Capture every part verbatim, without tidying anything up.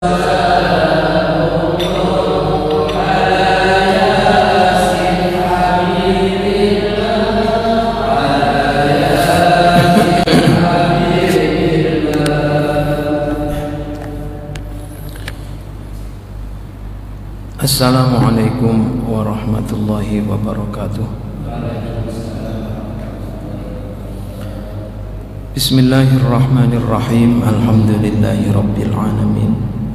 Assalamualaikum warahmatullahi wabarakatuh. Bismillahirrahmanirrahim. Alhamdulillahi rabbil alamin.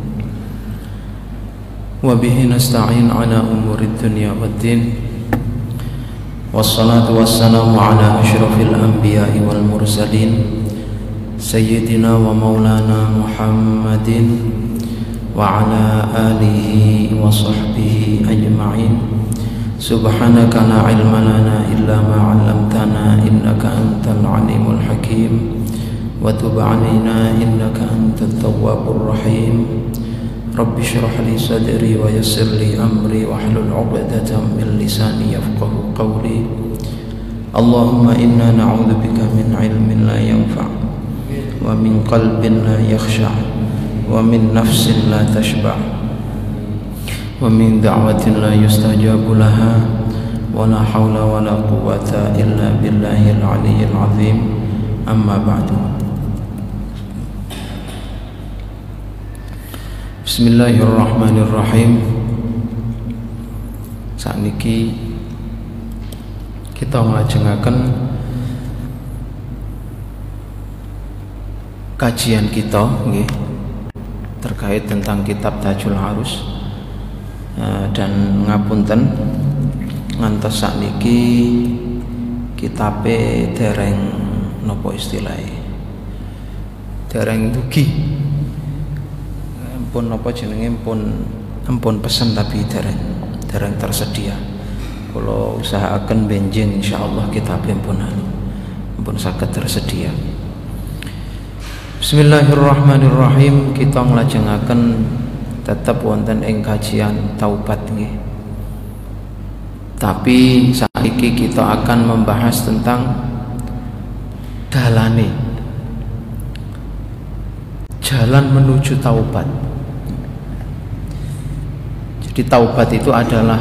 Wa bihi nasta'in ala umurid dunya waddin. Wassalatu wassalamu ala asyrafil anbiya'i wal mursalin Sayyidina wa maulana Muhammadin wa ala alihi wa sahbihi ajma'in. Subhanaka la ilma lana illa ma 'allamtana innaka antal alimul hakim wa tub 'alaina innaka antat tawwabur rahim. Rabbi shrah li sadri wa yassir li amri wa hlul 'uqdatam min lisani yafqahu qawli. Allahumma inna na'udzubika min 'ilmin la yanfa' wa min qalbin la yakhsha' wa min nafsin la tashba' wa min da'watin la yustajabu laha wa la hawla wa la quwwata illa billahil aliyyil azim. Amma ba'du. Bismillahirrahmanirrahim. Sakniki kita nglajengaken kajian kita nggih terkait tentang kitab Tajul Arus, uh, dan ngapunten ngantos sakniki kitabe dereng nopo istilahé dereng dugi, pun nopo jenenge pun ampun pesen tapi dereng dereng tersedia. Kalau usahakan benjing insyaallah kitabe pun pun saged tersedia. Bismillahirrahmanirrahim. Kita nglajengaken tetap wonten ing kajian taubat nggih. Tapi saiki kita akan membahas tentang dalane, jalan menuju taubat. Jadi taubat itu adalah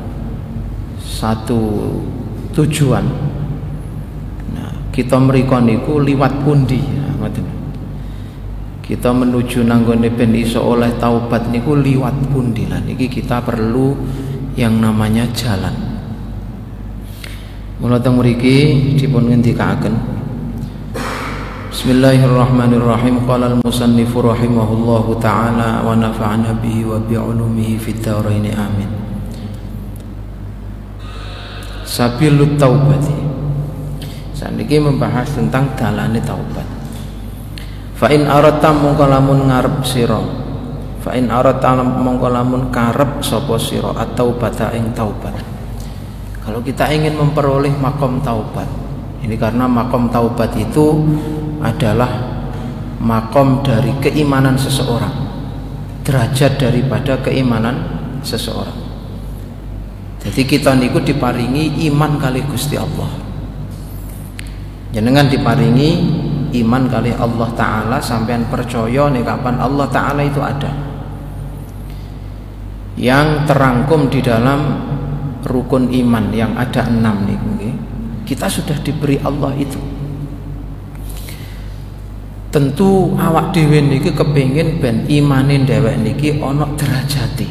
satu tujuan. Nah, kita mriko niku liwat pundi ya, ngoten. Kita menuju nanggone ben iso oleh taubat niku liwat pundi lan iki kita perlu yang namanya jalan. Mula teng mriki dipun ngendikaken Bismillahirrahmanirrahim. Qala al-musannifu rahimahullahu taala wa nafa'ana bihi wa bi 'ulumihi fid dharain amin. Sabilut taubati. Saniki membahas tentang dalane taubat. Fa in aratta mongko lamun ngarep sira, fa in aratta mongko lamun karep sapa sira atau bata ing taubat. Kalau kita ingin memperoleh makom taubat, ini karena makom taubat itu adalah makom dari keimanan seseorang, derajat daripada keimanan seseorang. Jadi kita niku diparingi iman kali Gusti Allah. Jenengan diparingi iman kali Allah Ta'ala, sampean percaya nih kapan Allah Ta'ala itu ada, yang terangkum di dalam rukun iman yang ada enam nih. Kita sudah diberi Allah itu. Tentu awak dhewe niki kepengin ben imanin dhewek niki ana derajate.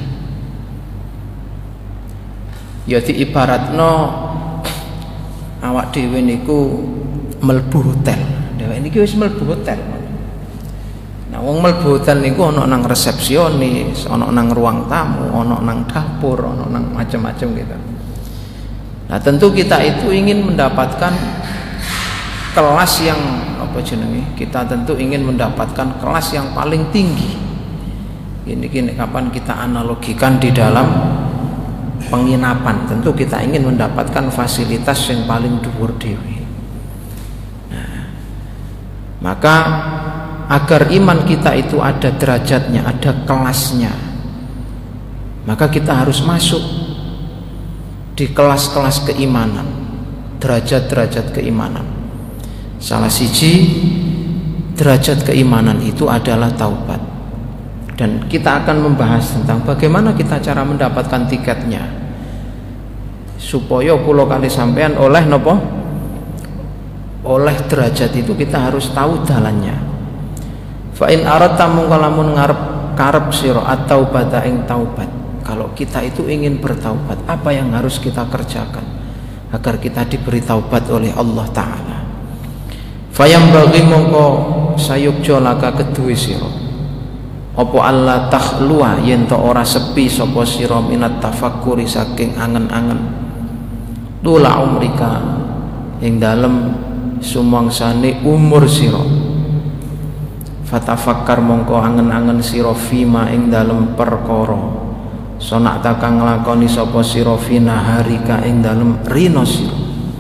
Ya diibaratno awak dhewe niku mlebu hotel. Dhewek niki wis mlebu hotel. Nah, wong mlebu hotel niku ana nang resepsionis, ana nang ruang tamu, ana nang dapur, ana nang macam-macam gitu. Nah, tentu kita itu ingin mendapatkan kelas yang apa jenenge? Kita tentu ingin mendapatkan kelas yang paling tinggi. Ini kini kapan kita analogikan di dalam penginapan, tentu kita ingin mendapatkan fasilitas yang paling dhuwur dhewe. Maka agar iman kita itu ada derajatnya, ada kelasnya, maka kita harus masuk di kelas-kelas keimanan, derajat-derajat keimanan. Salah siji derajat keimanan itu adalah taubat. Dan kita akan membahas tentang bagaimana kita cara mendapatkan tiketnya supaya kula kali sampean oleh nopo, oleh derajat itu kita harus tahu dalannya. Fa in aradta mungko lamun ngarep karep sira atau bata ing taubat. Kalau kita itu ingin bertaubat, apa yang harus kita kerjakan agar kita diberi taubat oleh Allah Ta'ala? Fayam bagi mongko sayukjo laka kedue sira apa Allah takhlua yen to ora sepi sapa sira minat tafakkuri saking angen-angen tula umrika ing dalem sumangsane umur sira. Fatafakkar mongko angen-angen sira fima ing dalem perkara sonak takang nglakoni sapa sira fina harika ing dalem rina sira.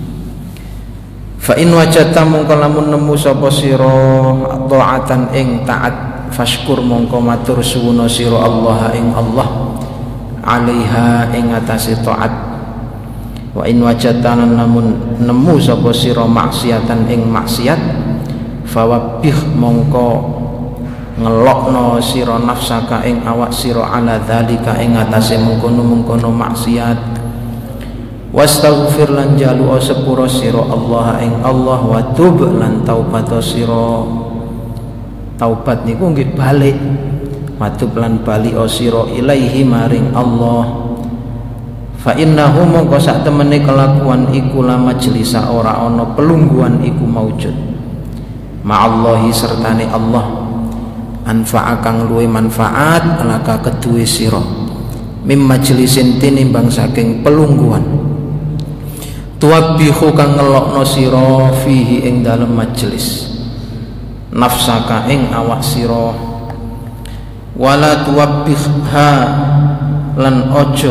Fa in wajadta mongko lamun nemu sapa sira taatan ing taat fashkur mongko matur suwuna sira Allah ing Allah alaiha ing atase taat. Wa in wajadta namun nemu sapa sira maksiatan ing maksiat fawabbih mongko ngelokno sira nafsaka ing awak sira ala dzalika ing atase mengkono-mengkono maksiat. Wastaghfir lan jalu sepura sira Allah ing Allah wa tub lan taubat sira. Taubat niku nggih balik, wa tub lan bali sira ilaihi maring Allah. Fa innahu mongko sak temene kelakuan iku la majlisa ora ana pelungguhan iku maujud ma'allahi sertane Allah anfa'a kang luwe manfaat alaka kedue sira mim majlisin tinimbang saking pelungguhan tuwabbihu kang ngelokno sira fihi ing dalem majlis nafsaka ing awak sira wala tuwabbihha lan ojo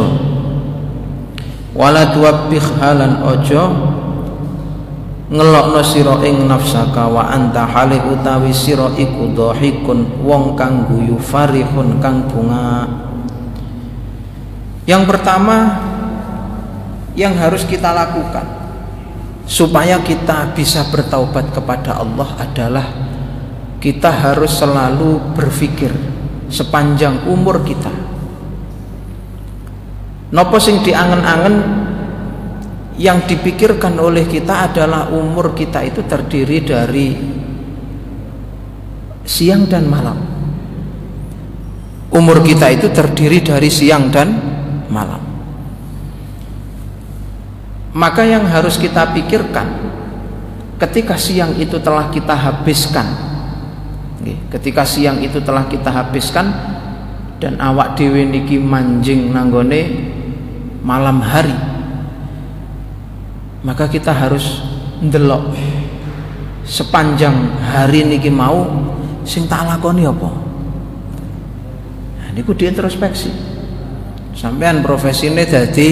wala tuwabbihha lan ojo ngelokno sira ing nafsaka wa anta hale utawi sira iku dhahikun wong kang guyu farihun kang bunga. Yang pertama yang harus kita lakukan supaya kita bisa bertaubat kepada Allah adalah kita harus selalu berpikir sepanjang umur kita. Napa sing diangen-angen yang dipikirkan oleh kita adalah umur kita itu terdiri dari siang dan malam. Umur kita itu terdiri dari siang dan malam. Maka yang harus kita pikirkan ketika siang itu telah kita habiskan, ketika siang itu telah kita habiskan dan awak dhewe niki manjing nanggone malam hari, maka kita harus ndelok sepanjang hari niki mau sing tak lakoni apa. Nah niku diintrospeksi. Sampean profesine dadi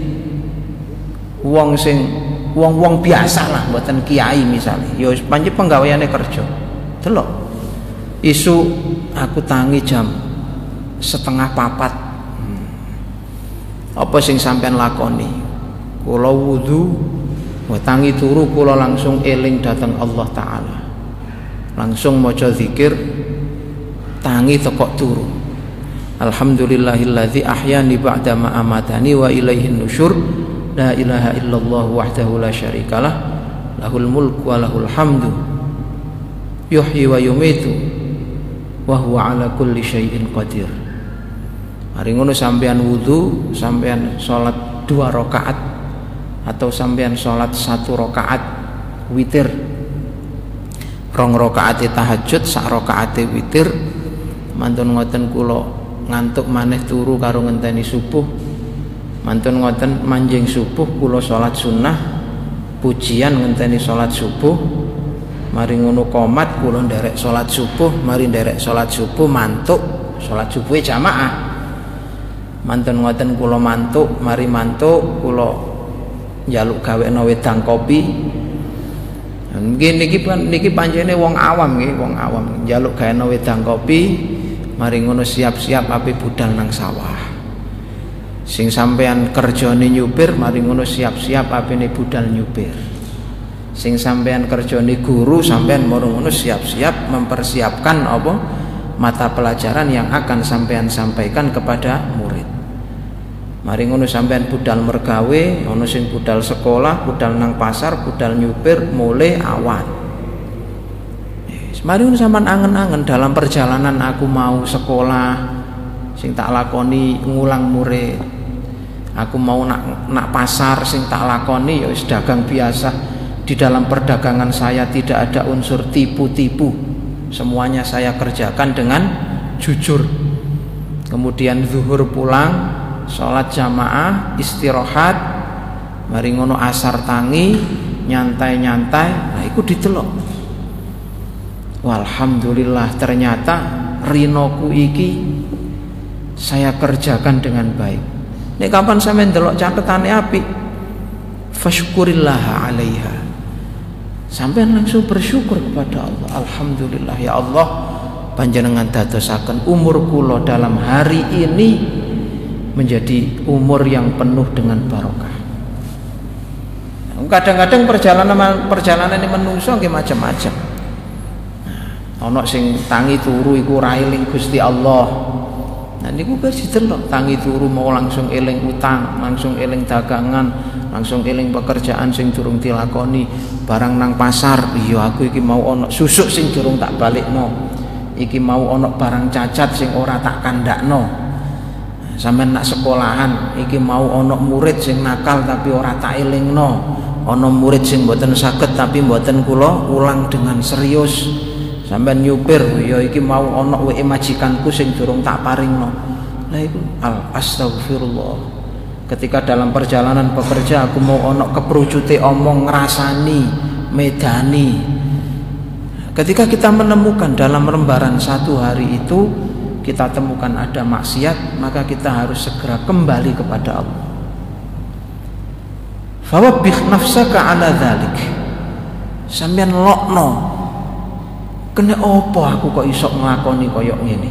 wong sing wong-wong biasa lah, mboten kiai misalnya. Ya wis pancen penggaweane kerja. Delok. Isu aku tangi jam setengah papat. Hmm. Apa sing sampean lakoni? Kula wudu tangi turu kula langsung eling datang Allah Ta'ala, langsung maca zikir tangi tekok turu alhamdulillahilladzi ahyani ba'da ma amatani wa ilaihin nusyur la ilaha illallah wahdahu la syarikalah lahul mulku wa lahul hamdu yuhyi wa yumitu wa huwa ala kulli syai'in qadir. Mari ngono sampean wudu, sampean salat dua rakaat atau sampean sholat satu rokaat witir, rong rokaat tahajud, sak rokaat witir, mantun ngoten kula ngantuk maneh turu karo ngenteni subuh, mantun ngoten manjing subuh kula sholat sunnah pujian ngenteni sholat subuh, mari ngono komat kula nderek sholat subuh, mari nderek sholat subuh mantuk sholat subuh jamaah, mantun ngoten kula mantuk, mari mantuk kula njaluk gawekno wedang kopi. Nggih niki niki pancene wong awam nggih, wong awam njaluk gawekno wedang kopi, mari ngono siap-siap ape budal nang sawah. Sing sampean kerjane nyupir, mari ngono siap-siap apene budal nyupir. Sing sampean kerjane guru, sampean moro ngono siap-siap mempersiapkan apa? mata pelajaran yang akan sampean sampaikan kepada murid. Mari ngono sampean budal mergawe, ono sing budal sekolah, budal nang pasar, budal nyupir, mulai awan. Yes. Mari ngono sampean angen-angen dalam perjalanan aku mau sekolah, sing tak lakoni ngulang murid. Aku mau nak nak pasar, sing tak lakoni ya wis dagang biasa. Di dalam perdagangan saya tidak ada unsur tipu-tipu. Semuanya saya kerjakan dengan jujur. Kemudian zuhur pulang, sholat jamaah, istirahat, mari ngono asar tangi, nyantai-nyantai, nah iku ditelok. Walhamdulillah ternyata rinoku iki saya kerjakan dengan baik. Nek kapan sampeyan ndelok catetane apik, fasyukurillaha 'alaiha. Sampeyan langsung bersyukur kepada Allah. Alhamdulillah ya Allah, panjenengan dadosaken umur kula dalam hari ini menjadi umur yang penuh dengan barokah. Kadang-kadang perjalanan perjalanan ini menungso nggih macam-macam. Ana sing tangi turu iku ra eling Gusti Allah. Nah niku wis didelok, tangi turu mau langsung eling utang, langsung eling dagangan, langsung eling pekerjaan sing durung dilakoni, barang nang pasar, iya aku iki mau ana susuk sing durung tak balikno. Iki mau ana barang cacat sing ora tak kandakno. Sampeyan nak sekolahan, iki mau ana murid sing nakal tapi ora tak elingno. Ana murid sing mboten saged tapi mboten kula ulang dengan serius. Sampeyan nyupir, ya iki mau ana W E majikanku sing durung tak paringno. Lah iku al astagfirullah. Ketika dalam perjalanan bekerja aku mau ana keprujute omong ngrasani, medani. Ketika kita menemukan dalam lembaran satu hari itu kita temukan ada maksiat, maka kita harus segera kembali kepada Allah. Fawabbih nafsaka ala dzalik. Sampeyan lokno. Kene opo aku kok iso nglakoni kaya ngene?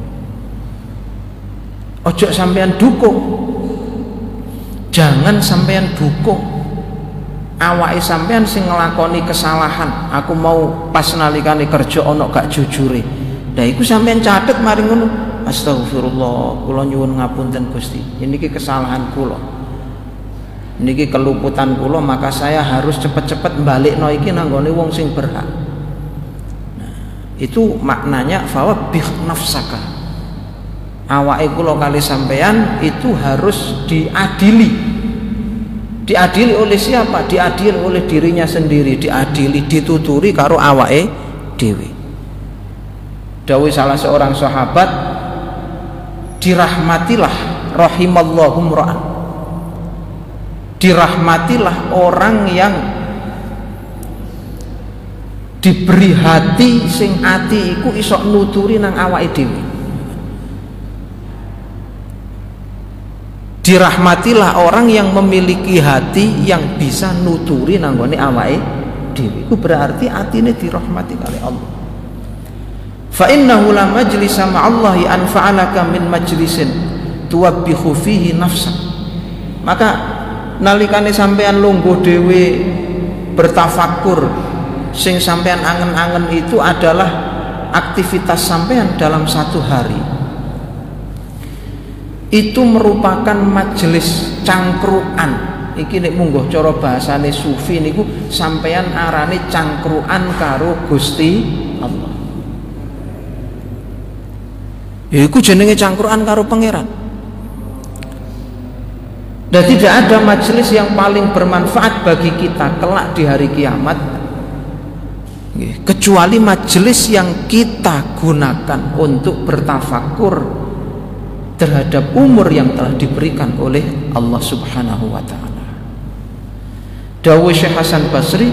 Ojo sampeyan dukung. Jangan sampeyan dukung. Awake sampeyan sing nglakoni kesalahan. Aku mau pas nalikane kerja ana gak jujure. Lah iku sampeyan catet mari ngono. Astagfirullah, kula nyuwun ngapunten Gusti. Niki kesalahan kula. Niki keluputan kula, maka saya harus cepet-cepet balikno iki nang nggone wong sing berhak. Itu maknanya fawabbih nafsaka. Awake kula kali sampean itu harus diadili. Diadili oleh siapa? Diadili oleh dirinya sendiri, diadili, dituturi karo awake dhewe. Dawuh salah seorang sahabat, dirahmatilah rahimallahu mra'an. Dirahmatilah orang yang diberi hati sing ati iku iso nuturi nang awake dhewe. Dirahmatilah orang yang memiliki hati yang bisa nuturi nang gone awake dhewe. Iku berarti atine dirahmati kali Allah. Fa innahu la majlisa ma'allahi anfa'alaka min majlisin tuwabbihu fihi nafsak. Maka nalikane sampean lungguh dhewe bertafakur, sing sampean angen-angen itu adalah aktivitas sampean dalam satu hari. Itu merupakan majelis cangkruan. Iki nek mungguh cara bahasane sufi niku sampean arane cangkruan karo Gusti Allah. Iku jenenge cangkruan karo pangeran. Dan tidak ada majelis yang paling bermanfaat bagi kita kelak di hari kiamat kecuali majelis yang kita gunakan untuk bertafakur terhadap umur yang telah diberikan oleh Allah Subhanahu wa taala. Dawuh Syekh Hasan Basri,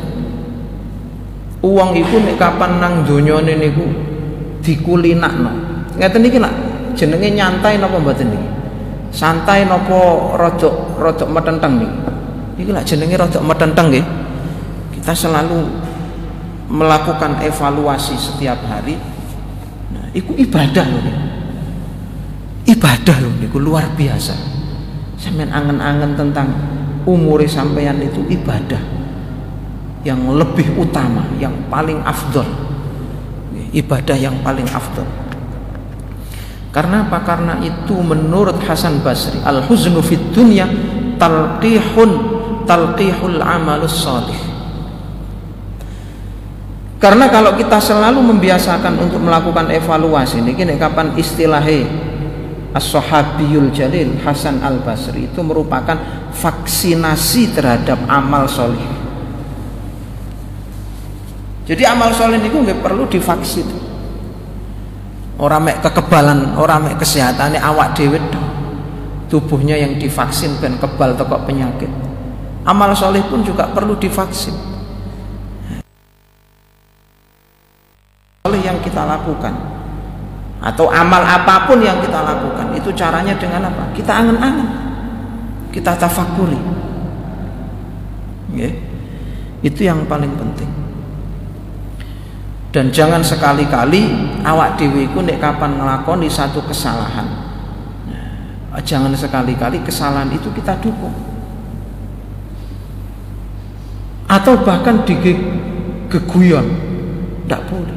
uang iku nek kapan nang donyane niku dikulinakno. Ngeten iki lak jenenge nyantai napa mboten niki? Santai napa rodok rodok metenteng niki? Iki lak jenenge rodok metenteng nggih. Kita selalu melakukan evaluasi setiap hari. Nah, itu ibadah loh. Ibadah loh niku luar biasa. Sampeyan angen-angen tentang umure sampeyan itu ibadah yang lebih utama, yang paling afdol. Ibadah yang paling afdol. Karena apa? Karena itu menurut Hasan Basri, al-huznu fid dunya talqihun talqihul amalus salih. Karena kalau kita selalu membiasakan untuk melakukan evaluasi, ini kini kapan istilahnya as-sahabiyul jalil Hasan al-Basri itu merupakan vaksinasi terhadap amal solih. Jadi amal solih itu nggak perlu divaksin. Orang mek kekebalan, orang mek kesehatannya awak dhewe tubuhnya yang divaksin ben kebal teko penyakit. Amal soleh pun juga perlu divaksin. Soleh yang kita lakukan atau amal apapun yang kita lakukan itu caranya dengan apa? Kita angen-angen, kita tafakuri. Okay? Itu yang paling penting. Dan jangan sekali-kali awak dhewe iku nek kapan nglakoni satu kesalahan, nah, jangan sekali-kali kesalahan itu kita dukung atau bahkan digeguyon, tidak boleh.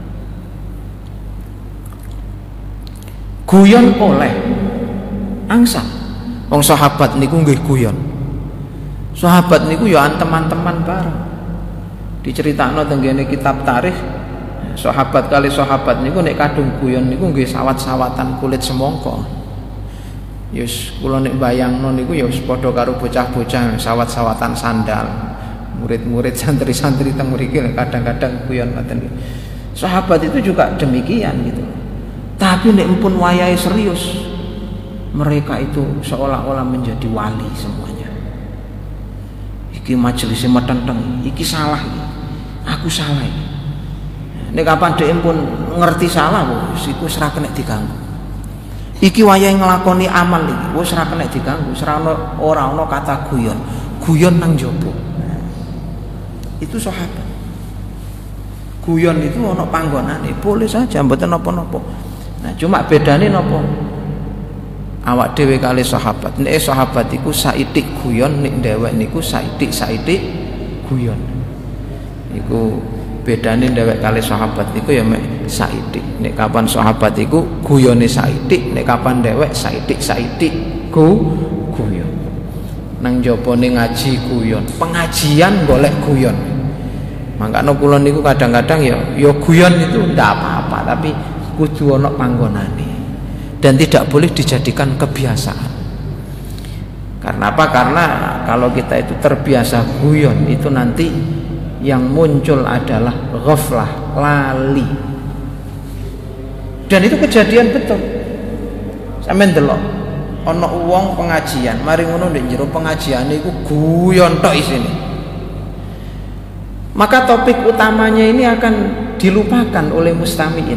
Guyon oleh angsal. Wong sahabat niku nggih guyon. Sahabat niku ya teman-teman bareng. Diceritakno teng ngene kitab tarikh. Sahabat kali sahabat niku nek kadung guyon niku nggih sawat-sawatan kulit semongko. Yus kula nek bayangno niku ya wis padha karo bocah-bocah sawat-sawatan sandal. Murid-murid santri-santri teng mriki kadang-kadang guyon ngoten. Sahabat itu juga demikian gitu. Tapi nek pun wayahe serius, mereka itu seolah-olah menjadi wali semuanya. Iki majelisnya metenteng, iki salah iki. Aku salah iki. Nek kapan dhek pun ngerti salah wis iku ora kena diganggu. Iki wayahe nglakoni amal iki wis ora kena diganggu, ora ora ana kata guyon. Guyon nang jaba. Itu sahabat. Guyon itu ana panggonane, boleh saja mboten napa-napa. Nah, cuma bedane napa? Awak dhewe kali sahabat. Nek sahabat iku saitik guyon, nek dhewek niku saitik-saitik guyon. Iku bedane dhewek kali sahabat iku ya mek saitik. Nek kapan sahabat iku guyone saitik, nek kapan dhewek saitik-saitik gu guyon. Nang jabane ngaji guyon, pengajian golek guyon. Makanya kula niku kadang-kadang ya ya guyon itu ndak apa-apa, tapi kudu ana panggonane dan tidak boleh dijadikan kebiasaan. Karena apa? Karena kalau kita itu terbiasa guyon itu nanti yang muncul adalah ghaflah, lali. Dan itu kejadian betul. Sampeyan delok ana wong pengajian, mari ngono ndek jero pengajiane iku guyon tok isine. Maka topik utamanya ini akan dilupakan oleh mustami'in.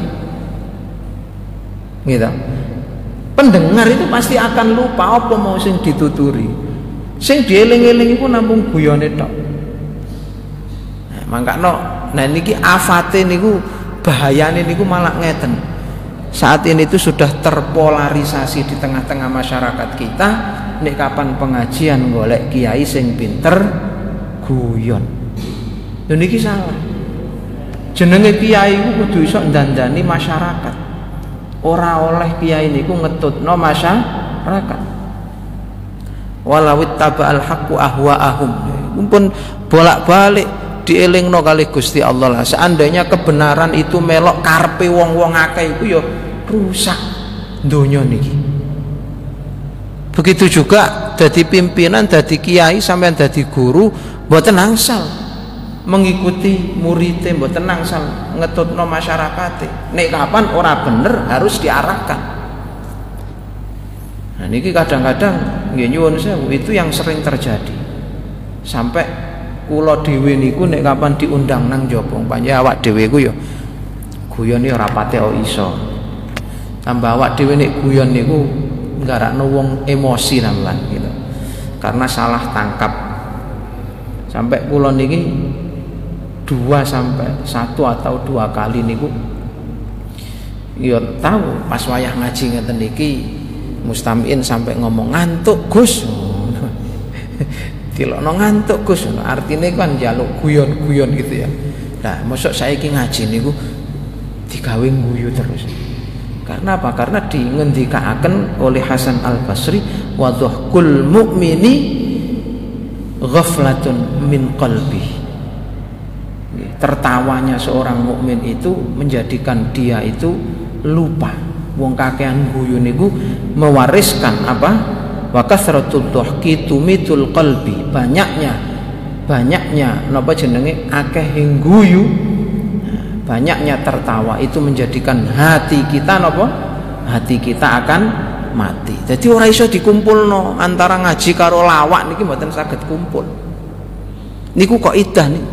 Gitu. Pendengar itu pasti akan lupa apa mau sing dituturi. Sing dieling-eling iku namung guyone tok. Nah, mangkano nah niki afate niku bahayane niku malah ngeten. Saat ini itu sudah terpolarisasi di tengah-tengah masyarakat kita. Nek kapan pengajian golek kiai sing pinter guyon. Lha niki salah. Jenenge kiai iku kudu iso ndandani masyarakat. Ora oleh kiai niku ngetutno masyarakat. Walawit taba'al haqqu ahwa'ahum. Mumpun bolak-balik dielingno kali Gusti Allah lah. Seandainya kebenaran itu melok karepe wong-wong akeh iku ya rusak donya niki. Begitu juga dadi pimpinan, dadi kiai sampean dadi guru mboten angsal mengikuti muridnya, mboten angsal ngetutno masyarakate. Nek kapan ora bener harus diarahkan. Nah niki kadang-kadang nggih nyuwun sewu itu yang sering terjadi. Sampai kula dhewe niku nek kapan diundang nang jaba panjenengan awak dhewe ku ya guyon ora pate iso. Tambah awak dhewe nek guyon niku nggarakno wong emosi nambahan gitu. Karena salah tangkap. Sampai kula niki dua sampai satu atau dua kali niku ya tahu pas wayah ngaji ngeten niki mustamiin sampai ngomong ngantuk Gus. Dilokno ngantuk Gus, artinya kan njaluk guyon-guyon gitu ya. Nah, mosok saiki ngaji niku digawe guyu terus. Karena apa? Karena dingendikaaken oleh Hasan Al-Basri, wa dhahkul mu'mini ghaflatun min qalbi. Tertawanya seorang mukmin itu menjadikan dia itu lupa. Wong kakean guyu niku mewariskan apa? Wa kasratud dhahki tumitul qalbi. Banyaknya banyaknya napa jenenge akeh guyu, banyaknya tertawa itu menjadikan hati kita napa? Hati kita akan mati. Jadi ora iso dikumpulno antara ngaji karo lawak niki mboten saged kumpul. Niku kok idah nih.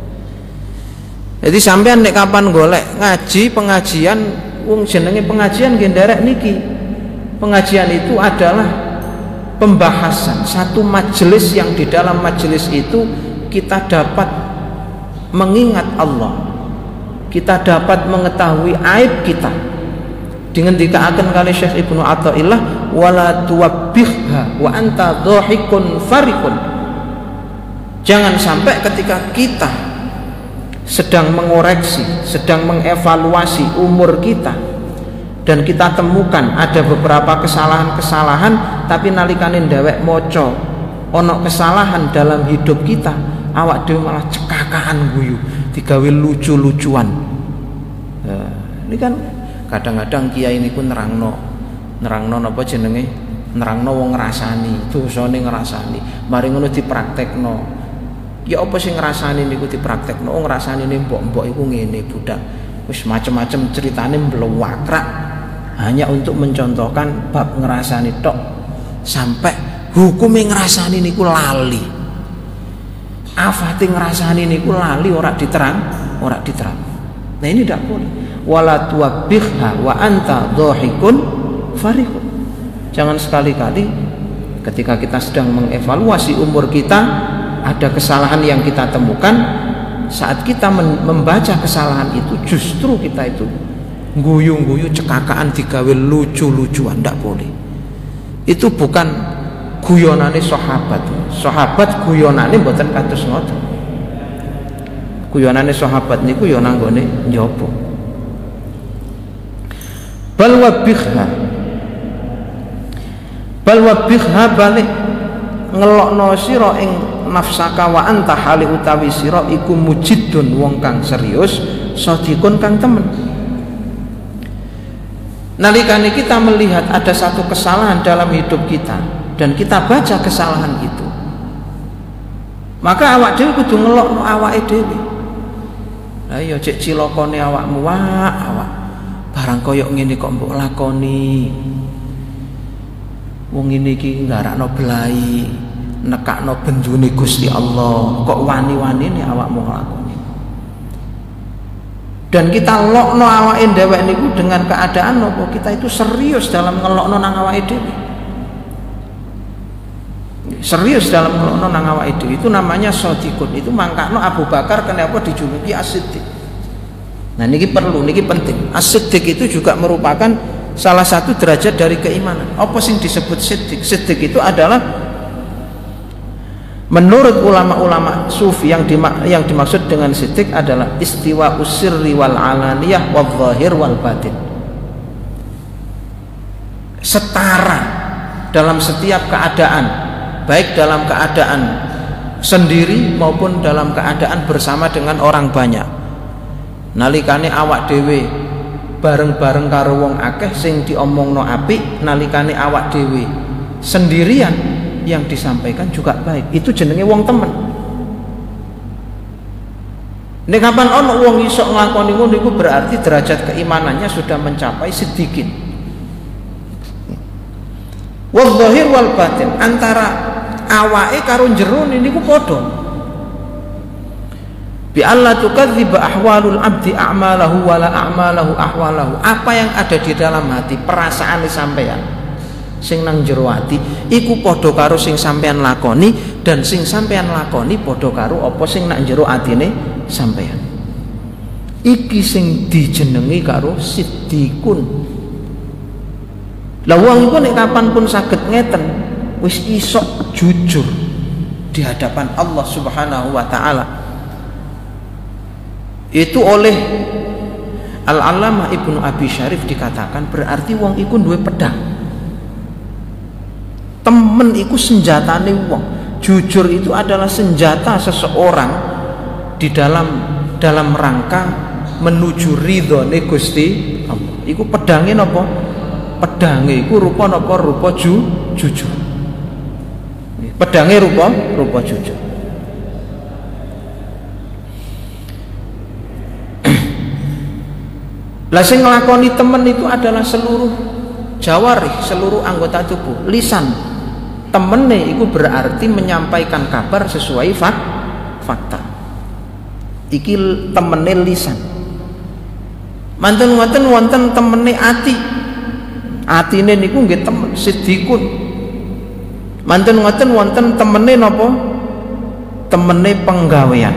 Jadi sampean nek kapan golek ngaji pengajian wong jenenge pengajian nggih nderek niki. Pengajian itu adalah pembahasan satu majelis yang di dalam majelis itu kita dapat mengingat Allah. Kita dapat mengetahui aib kita. Dengan dikatakan kali Syekh Ibnu Athaillah, wala tuwabbihha wa anta dhahikun farikun. Jangan sampai ketika kita sedang mengoreksi, sedang mengevaluasi umur kita dan kita temukan ada beberapa kesalahan-kesalahan, tapi nalikane ndawek maca ana kesalahan dalam hidup kita, awak dhewe malah cekakaan guyu, digawe lucu-lucuan. Nah, ini kan kadang-kadang kiai niku nerangno nerangno napa jenenge nerangno wong ngrasani, dosane ngrasani, mari ngono dipraktekno. Ya apa sing ngrasani niku dipraktekno, oh ngrasani ne mbok-mbok iku ngene budak. Wis macem-macem ceritane mblewakrak hanya untuk mencontohkan bab ngrasani tok sampai hukume ngrasani niku lali. Afate ngrasani niku lali ora diterang, ora diterang. Nah ini tidak boleh. Wala tuwabbihha wa anta dhahikun farihun. Jangan sekali-kali ketika kita sedang mengevaluasi umur kita ada kesalahan yang kita temukan, saat kita membaca kesalahan itu justru kita itu guyu-guyu cekakaan digawe lucu-lucuan, ndak boleh. Itu bukan guyonane sahabat. Sahabat guyonane mboten kados ngoten. Guyonane sahabat niku ya nanggone njaba. Bal wabihha Bal wabihha balik ngelokno sira ing nafsaka wa anta hali utawi sira iku mujidun wong kang serius, sadikun kang temen. Nalikane kita melihat ada satu kesalahan dalam hidup kita dan kita baca kesalahan itu, maka awak dhewe kudu ngelokno awake dhewe. Lah iya cek cilokone awakmu, wah awak barang koyok ngene kok mbok lakoni. Wong ngene iki nggarakno belai, nekakno bendune Gusti Allah, kok wani-wanine awakmu nglakoni. Dan kita lokno awake dhewek niku dengan keadaan nopo kita itu serius dalam ngelokno nang awake dhewe. Serius dalam ngelokno nang awake dhewe itu namanya shadikun. Itu mangkakno Abu Bakar kenapa dijuluki As-Siddiq. Nah niki perlu, niki penting. As-Siddiq itu juga merupakan salah satu derajat dari keimanan. Apa sing disebut siddiq? Siddiq itu adalah menurut ulama-ulama sufi yang, dimak yang dimaksud dengan siddiq adalah istiwa usirri wal alaniyah wal zahir wal batin. Setara dalam setiap keadaan, baik dalam keadaan sendiri maupun dalam keadaan bersama dengan orang banyak. Nalikane awak dhewe bareng-bareng karo wong akeh sing diomongno apik, nalikane awak dhewe sendirian yang disampaikan juga baik. Itu jenenge wong temen. Nek kapan ono wong iso nglakoni ngono iku berarti derajat keimanannya sudah mencapai siddiqin. Wal zahir wal batin, antara awake karo jero niku padha. Bi alla tukadziba ahwalul abdi a'malahu wala a'malahu ahwalahu. Apa yang ada di dalam hati, perasaan sampean sing nang jero ati iku padha karo sing sampean lakoni, dan sing sampean lakoni padha karo apa sing nang jero atine sampean. Iki sing dijenengi karo siddiqun. Lah wong iku nek kapanpun saged ngeten, wis iso jujur di hadapan Allah Subhanahu wa taala. Itu oleh Al-Allamah Ibnu Abi Syarif dikatakan berarti wong iku duwe pedang. Temen iku senjatane wong. Jujur itu adalah senjata seseorang di dalam dalam rangka menuju ridhone Gusti Allah. Iku pedange napa? Pedange iku rupa napa? Rupa ju, jujur. Pedange rupa rupa jujur. Lah sing nglakoni temen itu adalah seluruh jawarih, seluruh anggota tubuh. Lisan temene itu berarti menyampaikan kabar sesuai fak, fakta. Iki temene lisan. Manten wonten wonten temene ati. Atine niku nggih temen sidikun. Manten wonten wonten temene napa? Temene penggawean.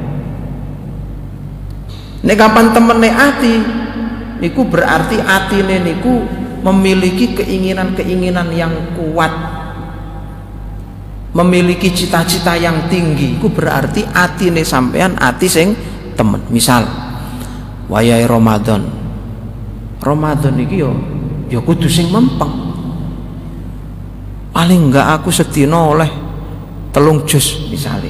Nek kapan temene ati niku berarti atine niku memiliki keinginan-keinginan yang kuat, memiliki cita-cita yang tinggi. Iku berarti atine sampean ati sing temen. Misal wayahe Ramadan, Ramadan iki yo yo kudu sing mempeng. Paling enggak aku sedina oleh telung juz misalnya.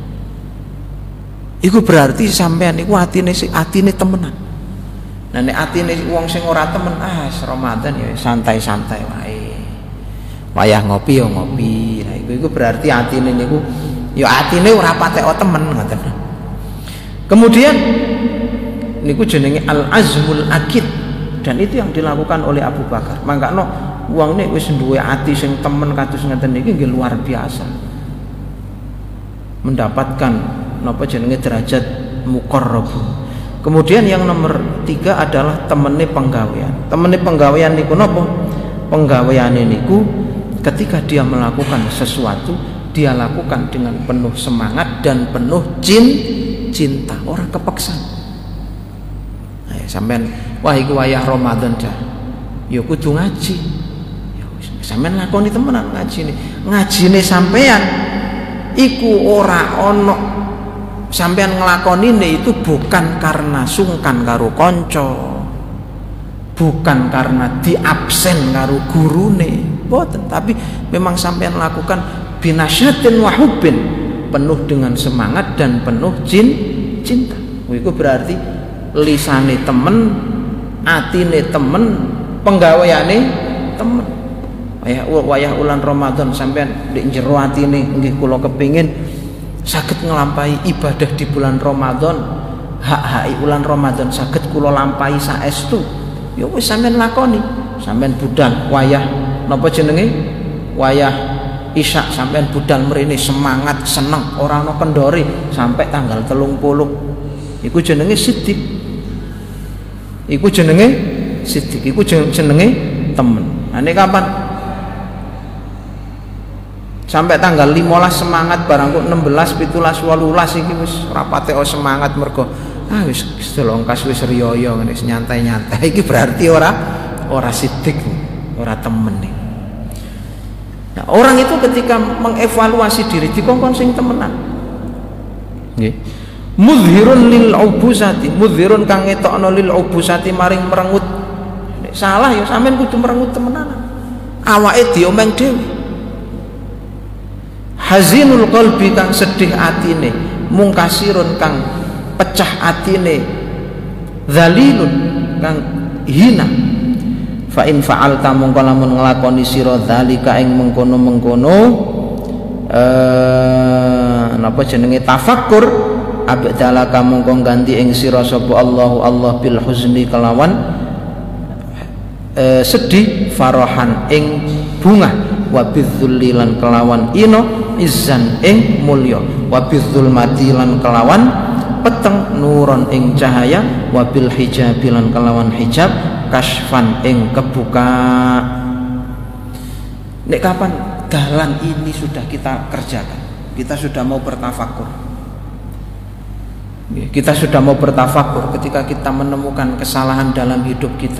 Iku berarti sampean iku atine atine temenan. Nah nek atine wong sing ora temen, ah Ramadan ya santai-santai wae. Wayah ngopi ya ngopi. Nah iku iku berarti atine niku ya atine ora patek temen ngoten. Kemudian niku jenenge al-azmul akid, dan itu yang dilakukan oleh Abu Bakar. Mangkano wong nek wis duwe ati sing temen kados ngeten niki nggih luar biasa. Mendapatkan napa jenenge derajat muqarrabun. Kemudian yang nomor tiga adalah temene penggawean. Temene penggawean niku napa? Penggaweane niku ketika dia melakukan sesuatu, dia lakukan dengan penuh semangat dan penuh cin, cinta, orang kepeksa. Nah, ya, sampean wah iku wayah Ramadan dah. Ya kudu ngaji. Ya sampean lakoni temenan ngajine. Ngajine sampean iku ora ono sampean ngelakonine itu bukan karena sungkan karo konco, bukan karena diabsen karo gurune, boten, tapi memang sampean lakukan binasyatin wa hubbin, penuh dengan semangat dan penuh jin, cinta. Iku berarti lisane temen, atine temen, penggaweane temen. Wayah wayah ulan Ramadan sampean ndek jero atine nggih kula kepingin saged ngelampahi ibadah di bulan Ramadan, hak-hak bulan Ramadan saged kula lampahi saestu. Ya wis sampean lakoni, sampean budal wayah napa jenenge? Wayah Isya sampean budal mrene semangat, seneng, ora ana kendore sampai tanggal telung puluh. Iku jenenge siddiq. Iku jenenge siddiq, iku jenenge temen. Nah nek kapan sampai tanggal limolas semangat barang kok enam belas, pitulas, walulas iki wis rapate o semangat mergo ah wis delongkas wis riyo ngene nyantai-nyantai iki berarti ora ora sidik, ora temen nih. Nah, orang itu ketika mengevaluasi diri dikongkon sing temenan. Nggih. Mudhirun lil ubusati, mudhirun kang ngetokno lil ubusati maring merengut. Nek salah ya sampean kudu merengut temenan. Awake diomeng dhewe. Hazinul qalbi kang sedih atine, mungkasirun kang pecah atine, dzalilun kang hina. Fa in fa'alta mongko lamun nglakoni sira dzalika ing mengkono-mengkono eh napa jenenge tafakkur, abdalaka mongko ganti ing sira sapa Allahu Allah bil huzni kelawan eh, sedih, farahan ing bunga, wa bidzulli lan kelawan ino izzan ing mulya, wa bidzulmati lan kelawan peteng, nuron ing cahaya, wa bil hijabi lan kelawan hijab, kasfan ing kebuka. Nek kapan dalan ini sudah kita kerjakan, kita sudah mau bertafakur, kita sudah mau bertafakur ketika kita menemukan kesalahan dalam hidup kita,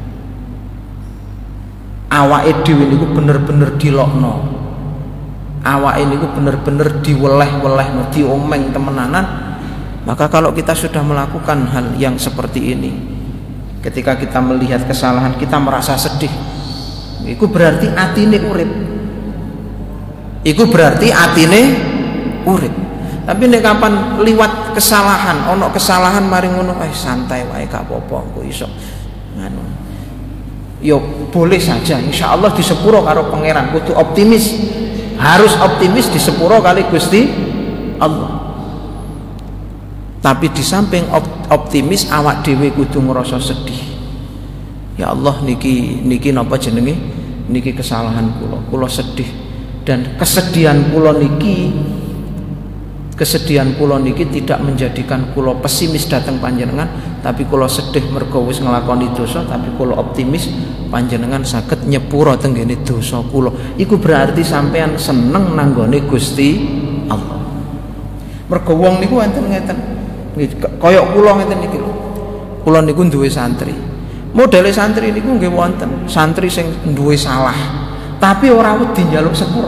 awake dhewe niku bener-bener dilokno, awake niku bener-bener diweleh-welehno, diomeng temenanan. Maka kalau kita sudah melakukan hal yang seperti ini, Ketika kita melihat kesalahan kita merasa sedih, iku berarti atine urip. Iku berarti atine urip. Tapi nek kapan liwat kesalahan, ono kesalahan mari ngono, eh santai wae gak apa-apa, engko iso nganu. Yo boleh saja, insya Allah disepuro karo pangeran. Kudu optimis, harus optimis disepuro kali Gusti Allah. Tapi di samping optimis awak dhewe kudu ngerasa sedih. Ya Allah niki niki napa jenenge? Niki kesalahan kula. Kula sedih dan kesedihan kula niki kesedihan kula niki tidak menjadikan kula pesimis dateng panjenengan, tapi kula sedih mergo wis nglakoni dosa, tapi kula optimis panjenengan saged nyepuro tenggene dosa kula. Iku berarti sampean seneng nanggone Gusti Allah. Mergo wong niku wonten ngeten. Kaya kula ngeten niki lho. Kula niku duwe santri. Modele santri niku nggih wonten santri sing duwe salah, tapi ora wedi njaluk sepuro.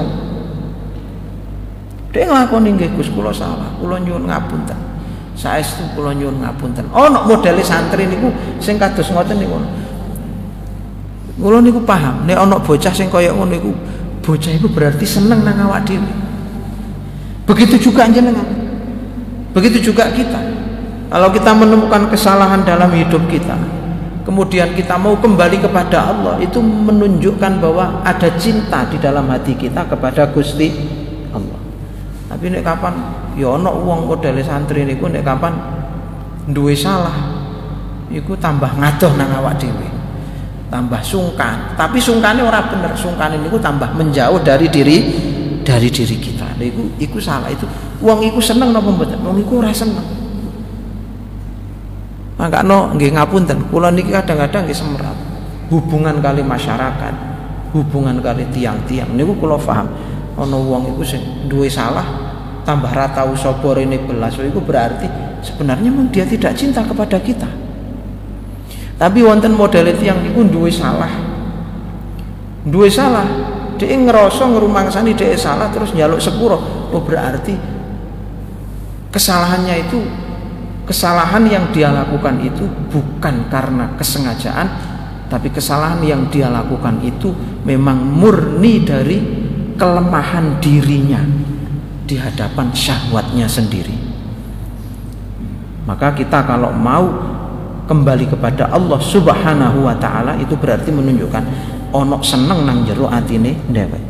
Dhek nglakoni nggih Gus kula salah, kula nyuwun ngapunten. Saestu kula nyuwun ngapunten. Ana modele santri niku sing kados ngoten niku. Kula niku paham, nek ana bocah sing kaya ngono niku, bocah iku berarti seneng nang awak dhewe. Begitu juga jenengan. Begitu juga kita. Kalau kita menemukan kesalahan dalam hidup kita, kemudian kita mau kembali kepada Allah, itu menunjukkan bahwa ada cinta di dalam hati kita kepada Gusti Allah. Tapi nek kapan ya ana wong modele santri niku nek kapan duwe salah, iku tambah ngadoh nang awak dhewe. Tambah sungkan, tapi sungkane ora bener, sungkane niku tambah menjauh dari diri dari diri kita. Lha iku iku salah itu. Wong iku seneng napa mboten? Wong iku ora seneng. Makanya nggih ngapunten, kula niki kadang-kadang nggih semerat hubungan kali masyarakat, hubungan kali tiang-tiang niku kula paham. Ana wong iku sing duwe salah tambah ra tau sapa rene belas, iku berarti sebenarnya memang dia tidak cinta kepada kita. Tapi wonten model tiang niku duwe salah. Duwe salah, dhek ngerasa ngrumangsani dhek salah terus njaluk sepuro. Oh berarti kesalahannya itu kesalahan yang dia lakukan itu bukan karena kesengajaan, tapi kesalahan yang dia lakukan itu memang murni dari kelemahan dirinya di hadapan syahwatnya sendiri. Maka kita kalau mau kembali kepada Allah Subhanahu wa taala itu berarti menunjukkan ono seneng nang jero atine dhewek.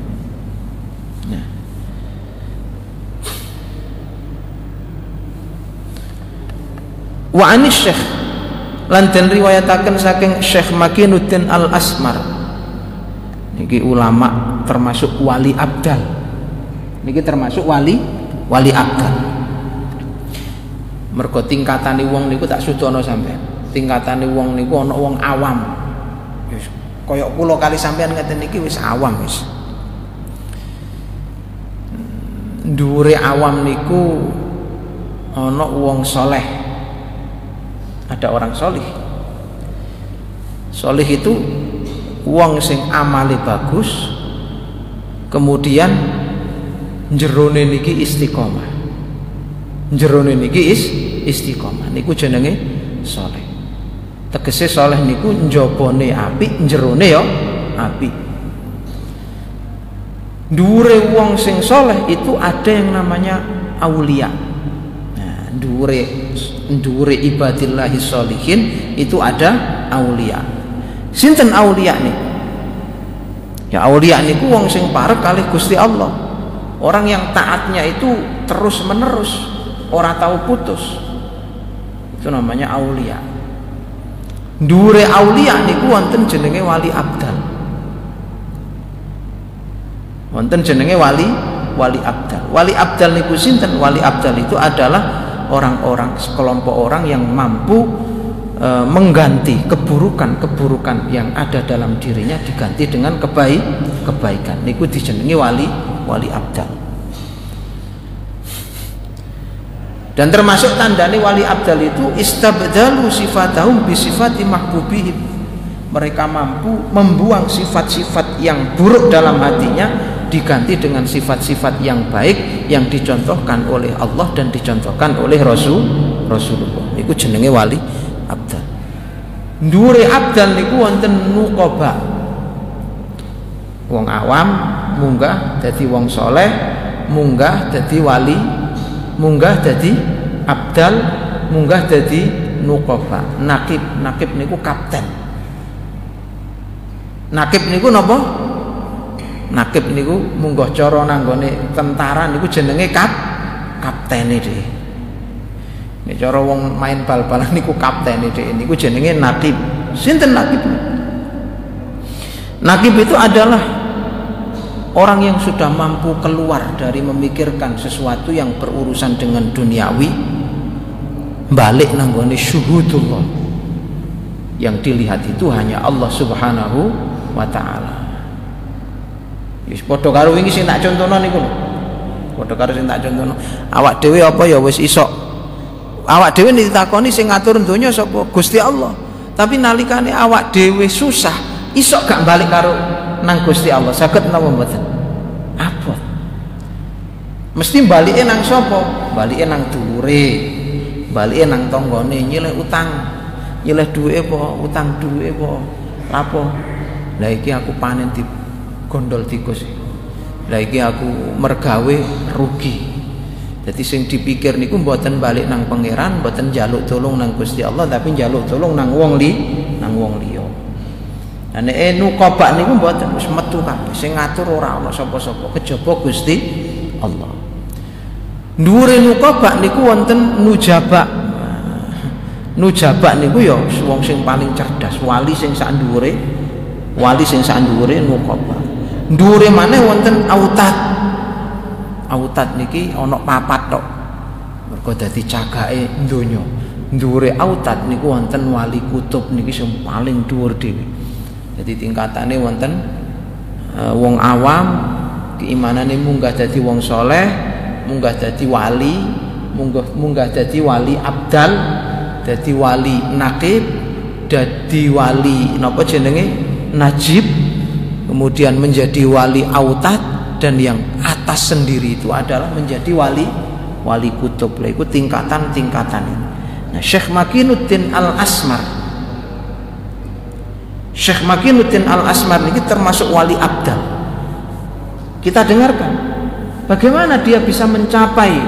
Wa anis Syekh lan den riwayataken saking Syekh Makinuddin Al-Asmar. Niki ulama termasuk wali abdal. Niki termasuk wali wali abdal. Mergo tingkatane wong niku tak sudono sampean. Tingkatane wong niku ana wong awam. Wis kaya kula kali sampean ngeten niki wis awam wis. Dhuwure awam niku ana wong saleh. Ada orang solih. Solih itu wong sing amale bagus, kemudian jerone niki istiqomah. Jerone niki is istiqomah. Niku jenenge soleh. Tegese soleh niku njabane apik, jerone ya apik. Dhuwure wong sing soleh itu ada yang namanya aulia. Nah, dhuwure Ndure ibadillahi sholihin itu ada aulia. Sinten aulia nih? Ya aulia niku wong sing parek kalih Gusti Allah. Orang yang taatnya itu terus menerus, ora tahu putus. Itu namanya aulia. Ndure aulia niku wonten jenenge wali abdal. Wonten jenenge wali wali abdal. Wali abdal niku sinten? Wali abdal itu adalah orang-orang sekelompok orang yang mampu e, mengganti keburukan-keburukan yang ada dalam dirinya diganti dengan kebaik kebaikan. Niku dijenengi wali wali abdal. Dan termasuk tandane wali abdal itu istabdalu sifatahum bi sifati mahbubihim. Mereka mampu membuang sifat-sifat yang buruk dalam hatinya diganti dengan sifat-sifat yang baik yang dicontohkan oleh Allah dan dicontohkan oleh Rasul Rasulullah. Iku jenenge wali abdal. Ndure abdal niku wonten nuqaba. Wong awam munggah dadi wong soleh, munggah dadi wali, munggah dadi abdal, munggah dadi nuqaba. Nakib, nakib niku kapten. Nakib niku napa? Nakib niku munggah cara nanggone tentara niku jenenge kap kaptene dhewe. Nek cara wong main bal-balan niku kaptene dhewe niku jenenge nakib. Sinten nakib? Nakib itu adalah orang yang sudah mampu keluar dari memikirkan sesuatu yang berurusan dengan duniawi, balik nanggone syuhudullah. Yang dilihat itu hanya Allah Subhanahu wa taala. Wis padha karo wingi sing tak contohno niku lho. Padha karo sing tak contohno. Awak dhewe apa ya wis iso. Awak dhewe ditakoni sing ngatur donya sapa? Gusti Allah. Tapi nalikane awak dhewe susah, iso gak balik karo nang Gusti Allah. Saged napa mboten? Abot. Mesti balike nang sapa? Balike nang dhuwure. Balike nang tanggane nyilih utang. Nyilih duwike apa? Utang duwike apa? Lapo? Lah iki aku panen di gondol tikus. Lah iki aku mergawe rugi. Jadi sing dipikir niku mboten balik nang pangeran, mboten njaluk tolong nang Gusti Allah, tapi njaluk tolong nang wong li, nang wong liya. Lah nek nuqaba niku mboten wis metu kabeh. Sing ngatur ora ana sapa-sapa kejaba Gusti Allah. Dhuwure nuqaba niku wonten nujaba. Nujaba niku ya wong sing paling cerdas, wali sing sak dhuwure, wali sing sak dhuwure nuqaba. Dhuwure maneh wonten autad. Autad niki ana papat tok. Mergo dadi cagake donya. Dhuwure autad niku wonten wali kutub niki sing paling dhuwur dhewe. Jadi tingkatane wonten uh, wong awam keimanane munggah dadi wong soleh, munggah dadi wali, munggah munggah dadi wali abdal, dadi wali nakib, dadi wali napa jenenge najib, kemudian menjadi wali autad. Dan yang atas sendiri itu adalah menjadi wali wali kutub. Lah iku tingkatan-tingkatan ini. Nah, Syekh Makinuddin Al-Asmar. Syekh Makinuddin Al-Asmar ini termasuk wali abdal. Kita dengarkan bagaimana dia bisa mencapai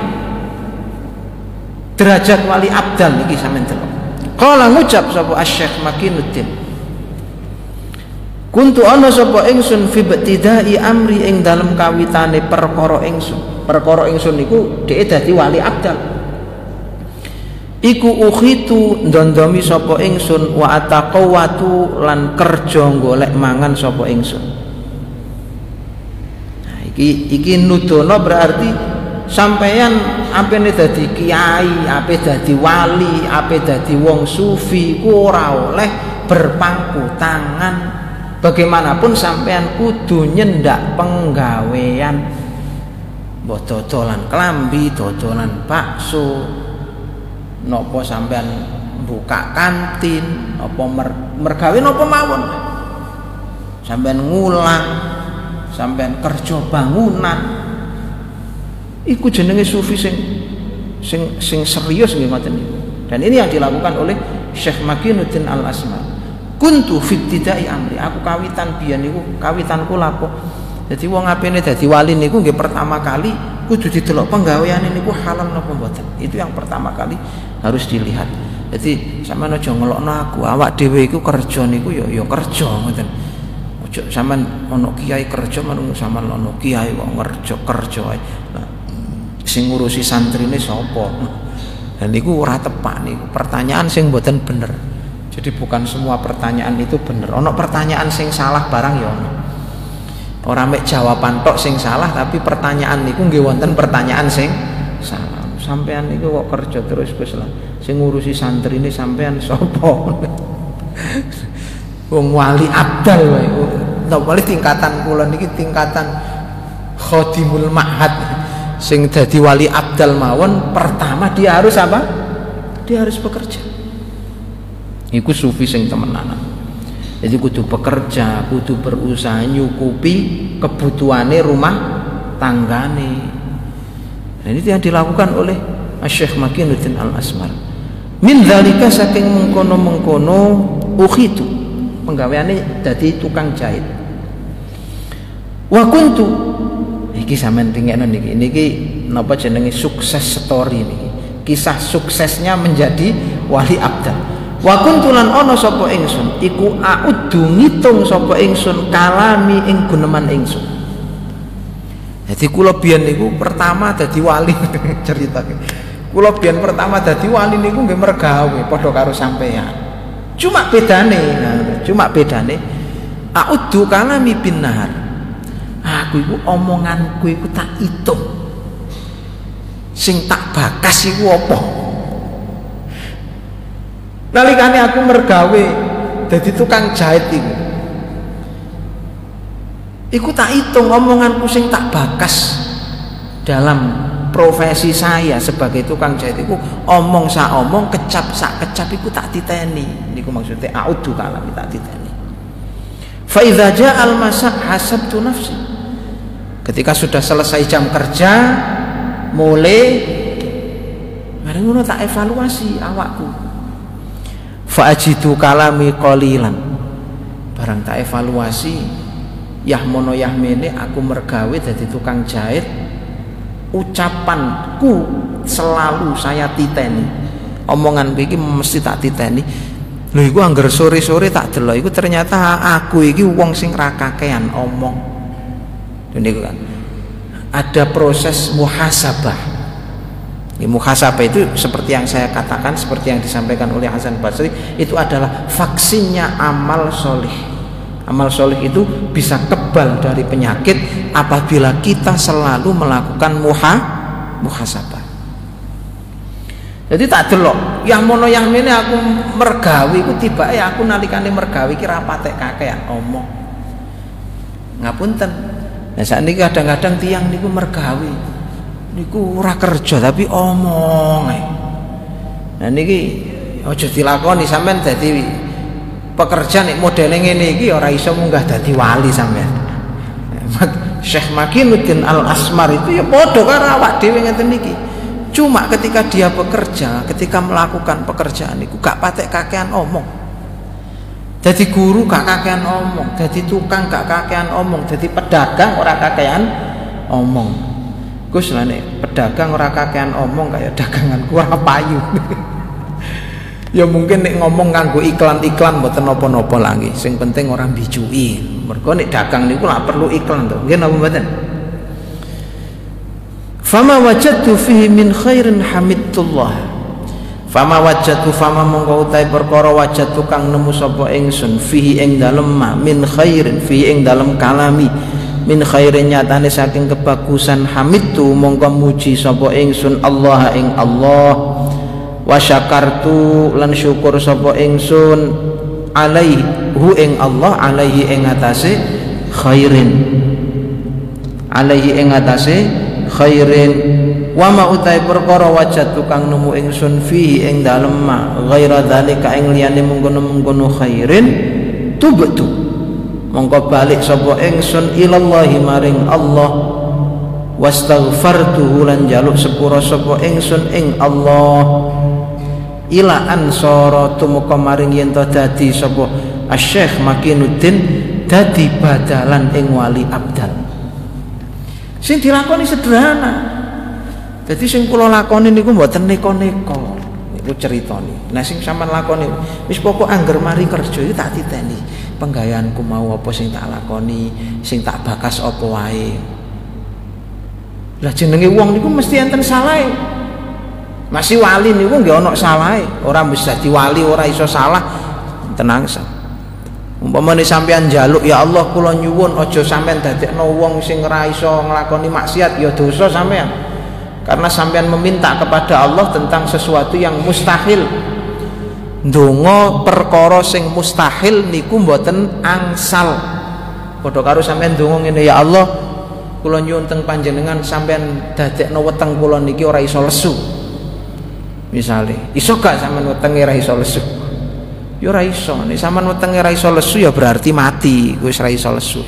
derajat wali abdal niki sampeyan delok. Qala ngucap sapa Syekh Makinuddin, kuntu ana sapa ingsun fi ibtidai amri ing dalem kawitane perkara ingsun. Perkara ingsun niku dhek dadi wali abdal. Iku ukhitu ndondomi sapa ingsun wa ataqawatu lan kerja golek mangan sapa ingsun. Nah, iki iki nudono berarti sampeyan apene dadi kiai, ape dadi wali, ape dadi wong sufi ku ora oleh berpangku tangan. Bagaimanapun sampean kudu nyendak penggawean, mbok dodolan klambi, dodolan bakso, nopo sampean buka kantin, nopo mer, mergawe nopo mawon, sampean ngulang, sampean kerja bangunan, iku jenenge sufi sing sing sing serius nggih ngoten niku. Dan ini yang dilakukan oleh Syekh Makinuddin Al-Asmar. Kuntu fitidai amri, aku kawitan biyen niku kawitanku lapo. Jadi wong apene dadi wali niku nggih pertama kali kudu didelok penggaweane niku halal napa mboten. Itu yang pertama kali harus dilihat. Jadi sampean aja ngelokno aku, awak dhewe iku kerja niku ya ya kerja ngoten. Aja sampean ana kiai kerja menung sampean ana kiai kok kerja kerja ae. Nah, sing ngurusi santrine sapa? Dan niku ora tepak niku. Pertanyaan sing mboten bener. Jadi bukan semua pertanyaan itu bener. Ono pertanyaan sing salah barang ya ono. Ora mek jawaban tok sing salah, tapi pertanyaan niku nggih wonten pertanyaan sing salah. Sampean niku kok kerja terus Gus lah. Sing ngurusi santri ini sampean sapa? Wong wali abdal wae. Napa wali tingkatan kula niki tingkatan khadimul ma'had. Sing dadi wali abdal mawon pertama dia harus apa? Dia harus bekerja. Iku sufi sing temenanan. Jadi kudu bekerja, kudu berusaha nyukupi kebutuhane rumah tanggane. Dan itu yang dilakukan oleh Syekh Makinuddin Al-Asmar. Min dzalika saking mengkono-mengkono ukhitu penggaweane dadi tukang jahit. Wa kuntu iki sampean tingekno niki niki napa jenenge sukses story niki, kisah suksesnya menjadi wali abdal. Wa kuntu lan ana sapa ingsun iku audu ngitung sapa ingsun kalami ing guneman ingsun. Jadi kula biyen niku pertama dadi wali ceritake. Kula biyen pertama dadi wali niku nggih mergawe padha karo sampeyan. Cuma bedane, nah, cuma bedane audu kalami bin nahar. Aku iku omonganku iku tak itung. Sing tak bakas iku apa? Nalikane aku mergawe dadi tukang jahit iku. Iku tak hitung omonganku sing tak bakas dalam profesi saya sebagai tukang jahit iku omong sak omong, kecap sak kecap iku tak titeni. Niku maksudnya audu kalami tak titeni. Fa idza ja'al masa hasabtu nafsi. Ketika sudah selesai jam kerja, mulai mari ngono tak evaluasi awakku. Fa ajidu kalami qalilan. Barang tak evaluasi yah mono yah mene aku mergawe dadi tukang jahit, ucapanku selalu saya titeni. Omonganku iki mesti tak titeni. Lho iku angger sore-sore tak delok iku ternyata aku iki wong sing ra kakean omong. Niku kan ada proses muhasabah. Ini muhasabah itu seperti yang saya katakan, seperti yang disampaikan oleh Hasan Basri, itu adalah vaksinnya amal solih. Amal solih itu bisa kebal dari penyakit apabila kita selalu melakukan muha muhasabah. Jadi tak delok yang mono yang ini aku mergawi ku tiba ya aku nalikane mergawi kira patek kakean omong. Ngapunten. Nah saat ini kadang-kadang tiang niku mergawi, niku ora kerja tapi omong. Nah niki aja dilakoni sampean dadi pekerja nek modele ngene iki ora iso munggah dadi wali sampean. Syekh Makinuddin Al-Asmar itu ya padha karo awak dhewe ngeten niki. Cuma ketika dia bekerja, ketika melakukan pekerjaan niku gak patek kakean omong. Jadi guru gak kakean omong, jadi tukang gak kakean omong, jadi pedagang ora kakean omong. Gus lah nek pedagang ora kakean omong kayak daganganku ora payu. Ya mungkin nek ngomong kanggo iklan-iklan mboten napa-napa lagi. Sing penting orang bijuki. Mergo nek dagang niku lak perlu iklan to. Nggih napa mboten? Fama wajadtu fihi min khairin hamidullah. Fama wajadtu fama mongko utahe perkara wajadtu kang nemu sapa ingsun fihi ing dalem min khairin fihi ing dalem kalami min khairin nyatane saking kebagusan hamidtu mongko muji sapa ingsun Allah ing Allah wa syakartu lan syukur sapa ingsun alaihi hu ing Allah alaihi ing atase khairin alaihi ing atase khairin wa ma utai perkara wajad tukang nemu ingsun fihi ing dalem ma ghaira dzalika ing liyane mungkono-mungkono khairin tubtu mongko balik sapa ingsun ilallahi maring Allah wastaghfartuhu lan jaluk sepura sapa ingsun ing Allah ila ansara tumeka maring yen to dadi sapa Asy-Syaikh Makinuddin dadi badalan ing wali abdal. Sing dilakoni sederhana. Jadi sing kula lakoni niku mboten neko-neko. Niku critane. Nah sing sampean lakoni wis pokok angger mari kerja iki tak titeni. Penggayaanku mau apa sing tak lakoni, sing tak bakas apa wae. Lah jenenge wong niku mesti enten salahe. Masih wali niku nggih ana salahe. Ora bisa dadi wali ora iso salah. Tenang sa. Umpamane sampean njaluk ya Allah kula nyuwun aja sampean dadekno wong sing ora iso nglakoni maksiat ya dosa sampean. Karena sampean meminta kepada Allah tentang sesuatu yang mustahil. Ndonga perkara sing mustahil niku mboten angsal. Padha karo sampean ndonga ngene ya Allah, kula nyuwun teng panjenengan sampean dadekno weteng kula niki ora iso lesu. Misale, iso gak sampean wetenge ora iso lesu? Ya ora iso. Nek sampean wetenge ora iso lesu ya berarti mati, wis ora iso lesu.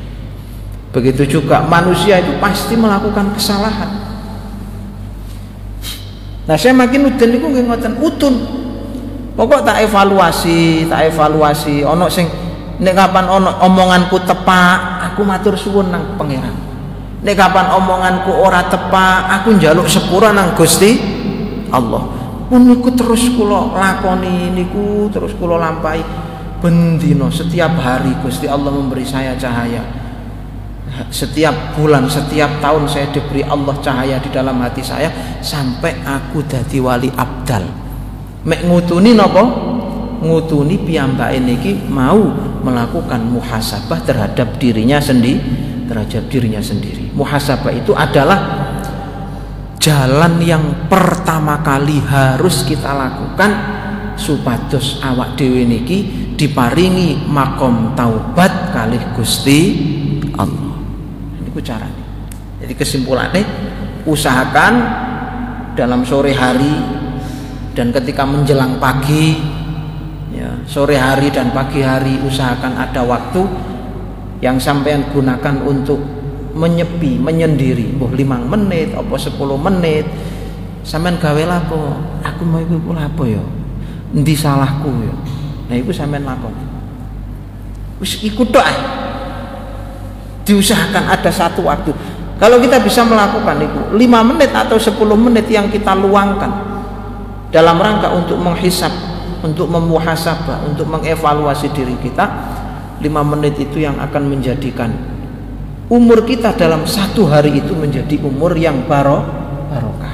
Begitu juga manusia itu pasti melakukan kesalahan. Nah saya Makinuddin niku nggih ngoten utun. Pokok tak evaluasi, tak evaluasi. Ono sing nek kapan ono omonganku tepak, aku matur suwun nang pangeran. Nek kapan omonganku ora tepak, aku njaluk sepura nang Gusti Allah. Pun niku terus kula lakoni niku, terus kula lampahi bendino setiap hari Gusti Allah memberi saya cahaya. Setiap bulan, setiap tahun saya diberi Allah cahaya di dalam hati saya sampai aku dadi wali abdal. Mek ngutuni napa? Ngutuni piyambake niki mau melakukan muhasabah terhadap dirinya sendiri, terhadap dirinya sendiri. Muhasabah itu adalah jalan yang pertama kali harus kita lakukan supados awak dhewe niki diparingi makom taubat kalih Gusti Allah. Niku carane. Jadi kesimpulannya, usahakan dalam sore hari dan ketika menjelang pagi, ya, sore hari dan pagi hari usahakan ada waktu yang sampean gunakan untuk menyepi, menyendiri, mbuh limang menit apa sepuluh menit. Sampean gawe lapo? Aku mau iku lapo ya? Endi salahku ya? Nah iku sampean lakoni. Wis iku tok ae. Diusahakan ada satu waktu. Kalau kita bisa melakukan itu lima menit atau sepuluh menit yang kita luangkan dalam rangka untuk menghisab, untuk memuhasabah, untuk mengevaluasi diri kita, lima menit itu yang akan menjadikan umur kita dalam satu hari itu menjadi umur yang baro, barokah.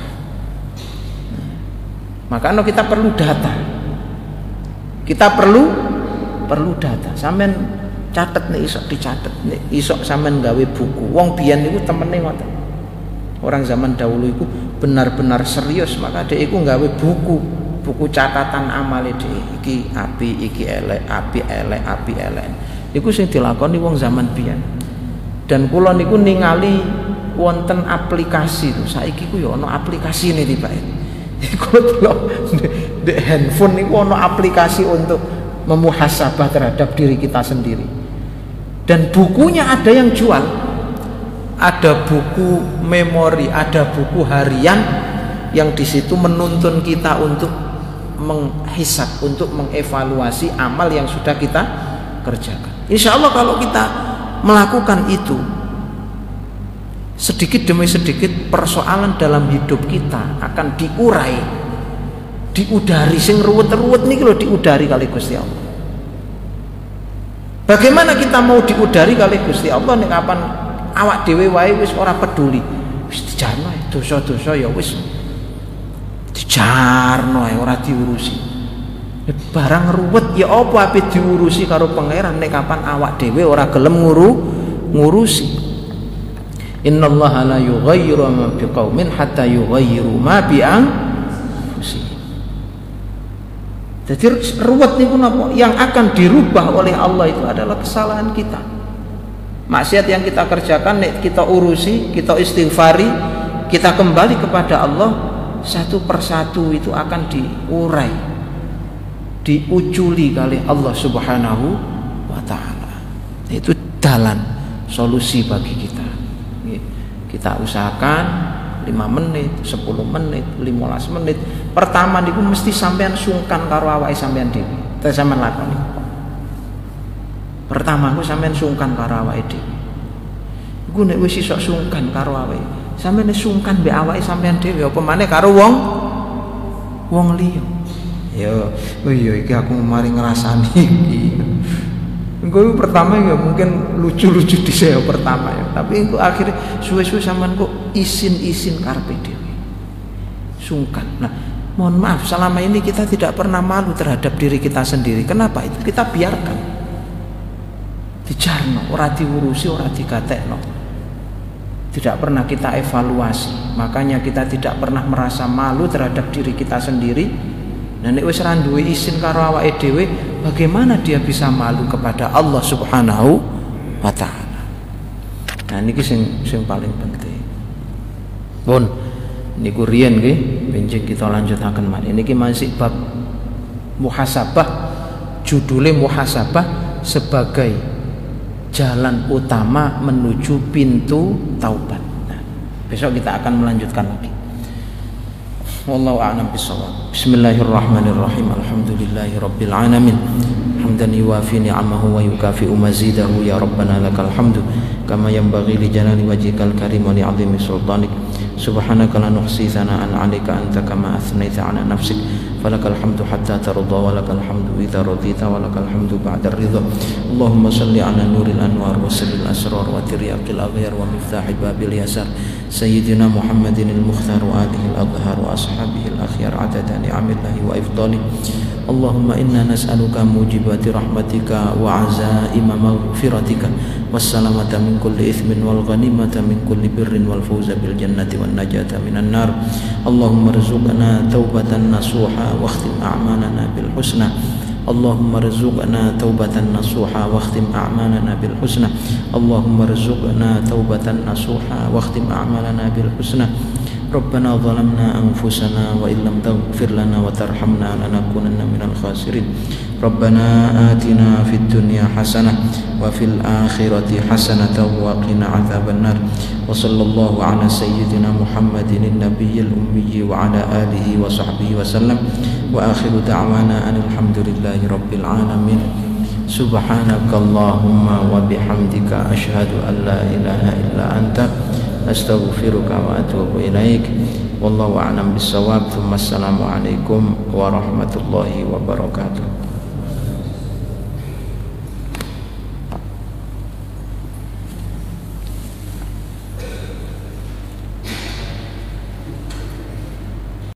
Makanya kita perlu data. Kita perlu perlu data. Sampean catet nih, isok dicatet nih, isok sampean gawe buku. Wong biyen niku temene ngoten. Orang zaman dahulu itu benar-benar serius, maka dia itu gawe buku, buku catatan amale dhewe. Iki api, iki elek, api elek, api elek. Iku sing dilakoni wong zaman biyen. Dan kula niku ningali wonten aplikasi lho. Saiki ku ya ana aplikasine tibake. Kula delok di handphone niku ana aplikasi untuk memuhasabah terhadap diri kita sendiri. Dan bukunya ada yang jual. Ada buku memori, ada buku harian yang di situ menuntun kita untuk menghisab, untuk mengevaluasi amal yang sudah kita kerjakan. Insya Allah kalau kita melakukan itu, sedikit demi sedikit persoalan dalam hidup kita akan diurai, diudari. Sing ruwet-ruwet niki lho diudari kali Gusti Allah. Bagaimana kita mau diudari kali Gusti Allah nek kapan awak dhewe wae wis ora peduli, wis dijarno dosa-dosa ya wis dijarno ae ora diurusi. Barang ruwet ya apa ape diurusi karo pangeran nek kapan awak dhewe ora gelem nguru ngurusi. Innallaha la yughayyiru ma biqaumin hatta yughayyiru ma bi anfusihim. Jadi ruwet niku napa? Yang akan dirubah oleh Allah itu adalah kesalahan kita. Maksiat yang kita kerjakan nek kita urusi, kita istighfari, kita kembali kepada Allah, satu persatu itu akan diurai, diuculi kali Allah Subhanahu wa taala. Itu jalan solusi bagi kita. Kita usahakan lima menit, sepuluh menit, lima belas menit. Pertama niku mesti sampean sungkan karo awake sampean dhewe. Terus sampean lakoni. Pertama aku sampean sungkan karo awake dhewe. Iku nek wis iso sungkan karo awake, sampean sungkan mbek awake sampean dhewe apa maneh karo wong wong liya. Ya, oh iya iki aku mari ngrasani iki. Engko pertama ya mungkin lucu-lucu dhisik ya pertama ya, tapi engko akhirnya suwe-suwe sampean kok isin-isin karepe dhewe. Sungkan. Nah, mohon maaf selama ini kita tidak pernah malu terhadap diri kita sendiri. Kenapa itu? Kita biarkan. Dijarno, ora diurusi, ora digatekno. Tidak pernah kita evaluasi. Makanya kita tidak pernah merasa malu terhadap diri kita sendiri. Nah nek wis ra duwe izin karo awake dhewe, bagaimana dia bisa malu kepada Allah Subhanahu wa taala. Nah niki sing sing paling penting. Pun niku riyen nggih, benjing kita lanjutaken malih. Niki masih bab muhasabah, judulnya muhasabah sebagai jalan utama menuju pintu taubat. Nah, besok kita akan melanjutkan lagi. Wallahu a'lam bishawab. Bismillahirrahmanirrahim. Alhamdulillahi rabbil alamin. Hamdan yuwafi ni'amahu wa yukafi'u mazidahu ya rabbana lakal hamdu kama yanbaghi li jalali wajhikal karim wa li'azimi sultanik. Subhanaka la nuhsi thana'an 'alaika anta kama athnaita 'ala nafsik falakal hamdu hatta tarda wa lakal hamdu idza radita wa lakal hamdu ba'da ridha. Allahumma salli 'ala nuril anwar wa sirril asrar wa tiryaqil aghyar wa miftahi babil yasar sayyidina Muhammadin al-mukhtar wa alihi al-adhhar wa ashabihi al-akhyar 'adada ni'amillahi wa ifdali. Allahumma inna nas'aluka mujibati rahmatika wa azaima maghfiratika wassalamata min kulli ithmin wal ghanimata min kulli birrin wal fawza bil jannati wan najata minan nar. Allahumma rzuqna taubatan nasuha wa khtim a'malana bil husna. Allahumma rzuqna taubatan nasuha wa khtim a'malana bil husna. Allahumma rzuqna taubatan nasuha wa khtim a'malana bil husna. Rabbana zalamna anfusana wa illam taghfir lana wa tarhamna lanakunanna minal khasirin. Rabbana atina fid dunya hasanah wa fil akhirati hasanatan wa qina adzabannar. Wa sallallahu ala sayyidina Muhammadin nabiyil ummi wa ala alihi wa sahbihi wa sallam. Wa akhiru da'wana alhamdulillahi rabbil alamin. Subhanakallahumma wa bihamdika asyhadu an la ilaha illa anta astaghfiruka wa atubu ilaik. Wallahu a'lam bissawab. Assalamu alaikum warahmatullahi wabarakatuh.